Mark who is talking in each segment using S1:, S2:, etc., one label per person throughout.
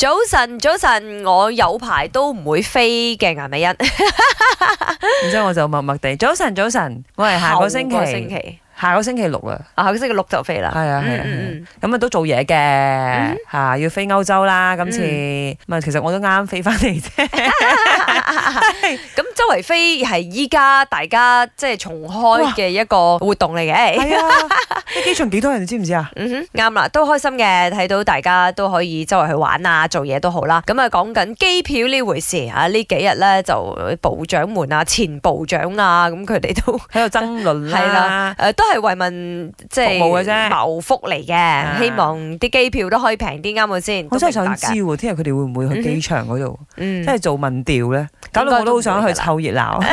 S1: 早晨，早晨，我有排都唔會飛嘅顏美欣。
S2: 然之後我就默默地，早晨，早晨，我係下個星期，下個星期六啊，
S1: 下個星期六就飛啦。
S2: 係啊，係啊，咁啊都做嘢嘅嚇，要飛歐洲啦。今次咪其實我都啱飛翻嚟啫。
S1: 咁周圍飛係依家大家即係重開嘅一個活動嚟嘅。
S2: 係啊，啲機場幾多人，你知唔知啊？
S1: 啱啦，都開心嘅，睇到大家都可以周圍去玩啊，做嘢都好啦。咁啊，講緊機票呢回事啊，呢幾日咧就部長們啊、前部長啊，咁佢哋都
S2: 喺度爭論啦。
S1: 係啦，都係為民即係
S2: 服務嘅啫，
S1: 謀福嚟嘅，希望啲機票都可以平啲，啱唔啱先？
S2: 我真係想知喎，聽日佢哋會唔會去機場嗰度，即係做民調咧？搞到我都好想去湊熱鬧。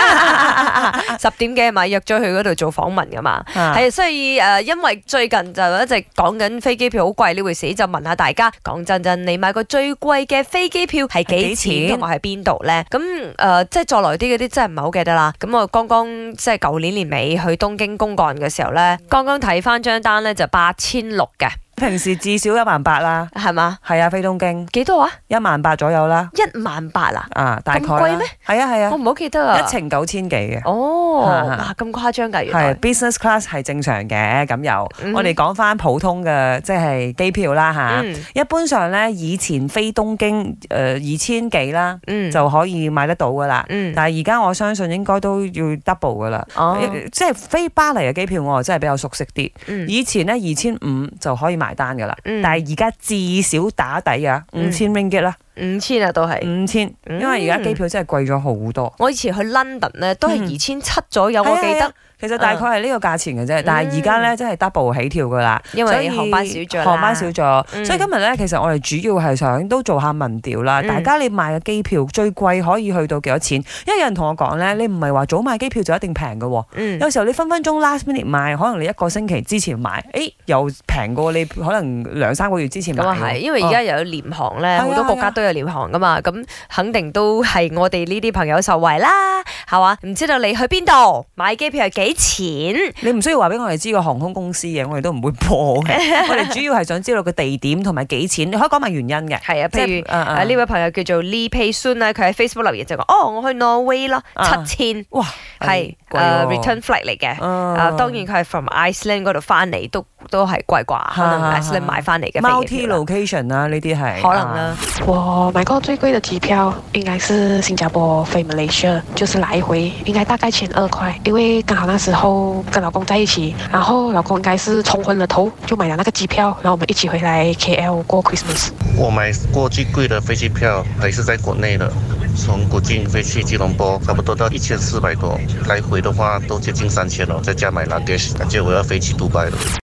S1: 10點幾咪約咗去嗰度做訪問噶嘛？係，所以因為最近就一直講緊飛機票好貴呢回事，就問下大家，講真，你買過最貴嘅飛機票係幾錢，同埋喺邊度咧？咁即係再來啲嗰啲真係唔係好記得啦。咁我剛剛即係舊年年尾去東京公幹嘅時候咧，剛剛睇翻張單咧就8600嘅。
S2: 平時至少18000啦，
S1: 係嘛？
S2: 係啊，飛東京
S1: 幾多啊
S2: ？18000左右啦。
S1: 18000啊？
S2: 大概
S1: 咁貴咩？
S2: 係啊係啊，
S1: 我唔好記得啊。
S2: 一程9000幾嘅。
S1: 哦，哇咁誇張㗎，原來。
S2: 係 business class 係正常嘅，咁又我哋講翻普通嘅即係機票啦嚇。一般上咧，以前飛東京2000幾啦，就可以買得到㗎啦。但係而家我相信應該都要 double 㗎啦。即係飛巴黎嘅機票，我真係比較熟悉啲。以前咧2500就可以買單噶啦，但係而家至少打底啊5000 ringgit 啦
S1: ，5000啊都係
S2: 5000，因為而家機票真係貴咗好多。
S1: 我以前去 London 咧都係2700左右，我記得。
S2: 其實大概係呢個價錢嘅啫，但係而家咧真係 double 起跳噶啦，
S1: 因為航班少咗啦。
S2: 航班少咗，所以今日咧其實我哋主要係想都做下民調啦。大家你買嘅機票最貴可以去到幾多錢？因為有人同我講咧，你唔係話早買機票就一定平嘅喎。有時候你分分鐘 last minute 買，可能你1個星期之前買，又平過你可能2-3個月之前買。
S1: 咁啊係，因為而家又有廉航咧，好多國家都有廉航噶嘛，咁肯定都係我哋呢啲朋友受惠啦，係嘛？唔知道你去邊度買機票係幾錢？
S2: 你唔需要話俾我哋知個航空公司嘅，我哋都唔會播嘅。我哋主要係想知道個地點同埋幾錢，你可以講埋原因嘅。
S1: 係啊，譬如呢位朋友叫做 Lee Pei Sun 咧，佢喺 Facebook 留言就講：我去挪威咯，7000，
S2: 哇，
S1: 係return flight 嚟嘅。當然佢係 from Iceland 嗰度翻嚟，都係貴啩，可能 Iceland 買翻嚟嘅飛機票。
S2: multi location 啦，呢啲係
S1: 可能啦。
S3: 我買過最貴的機票應該是新加坡飛 Malaysia，就是來回，應該大概1200塊，因為剛好那時候跟老公在一起，然後老公應該是沖昏了頭，就買了那個機票，然後我們一起回來 KL 過 Christmas。
S4: 我買過最貴的飛機票還是在國內的，從古晉飛去吉隆坡，差不多到1400多，來回的話都接近3000了，再加買 luggage，感覺我要飛去杜拜了。